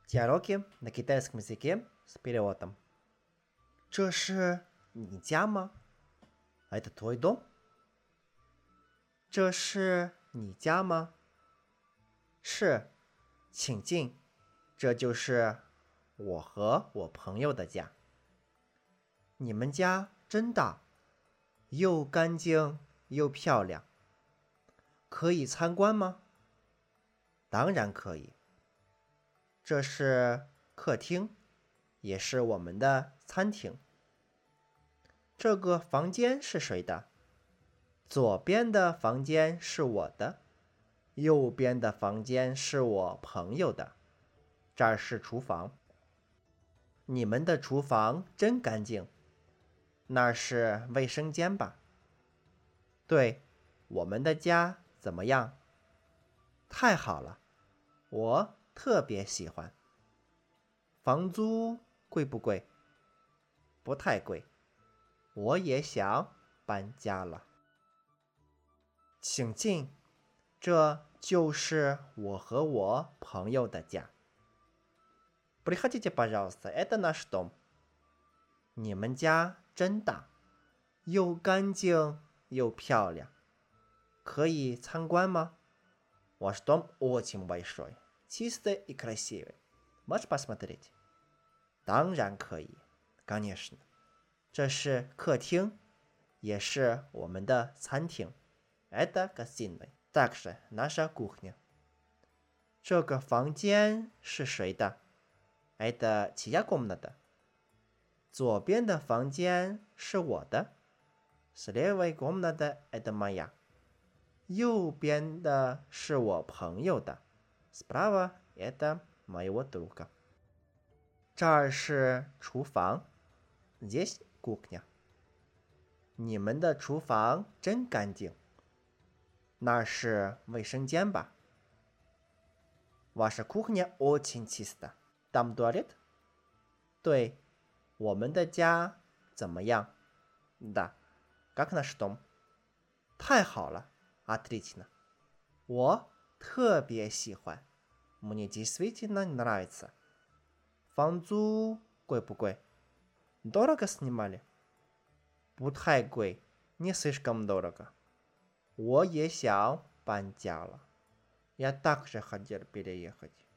Диалоги на китайском языке с переводом. 这是你家吗？ Это твой дом? 这是你家吗？是，请进。这就是我和我朋友的家。你们家真大，又干净又漂亮。可以参观吗？当然可以。这是客厅，也是我们的餐厅。这个房间是谁的？左边的房间是我的，右边的房间是我朋友的。这儿是厨房。你们的厨房真干净。那是卫生间吧？对，我们的家怎么样？太好了，我特别喜欢。房租贵不贵？不太贵。我也想搬家了。请进，这就是我和我朋友的家。Приходите, пожалуйста, это наш дом. 你们家真大，又干净又漂亮。可以参观吗？Ваш дом очень большой, чистый и красивый. Можешь посмотреть? 当然可以 конечно. 这是客厅，也是我们的餐厅。Это гостиная, также наша кухня. 这个房间是谁的？Это чья комната? 左边的房间是我的。Слева комната это моя. 右边的是我朋友的。Справа это моего друга. 这儿是厨房。Здесь кухня. 你们的厨房真干净。那是卫生间吧？ Ваша кухня очень чиста. Там туалет? 对，我们的家怎么样？ Да. Как наш дом? 太好了 Отлично. 我特别喜欢。Мне действительно нравится. 房租贵不贵？ Дорого снимали? 不太贵 Не слишком дорого. 我也想搬家了。Я также хотел переехать.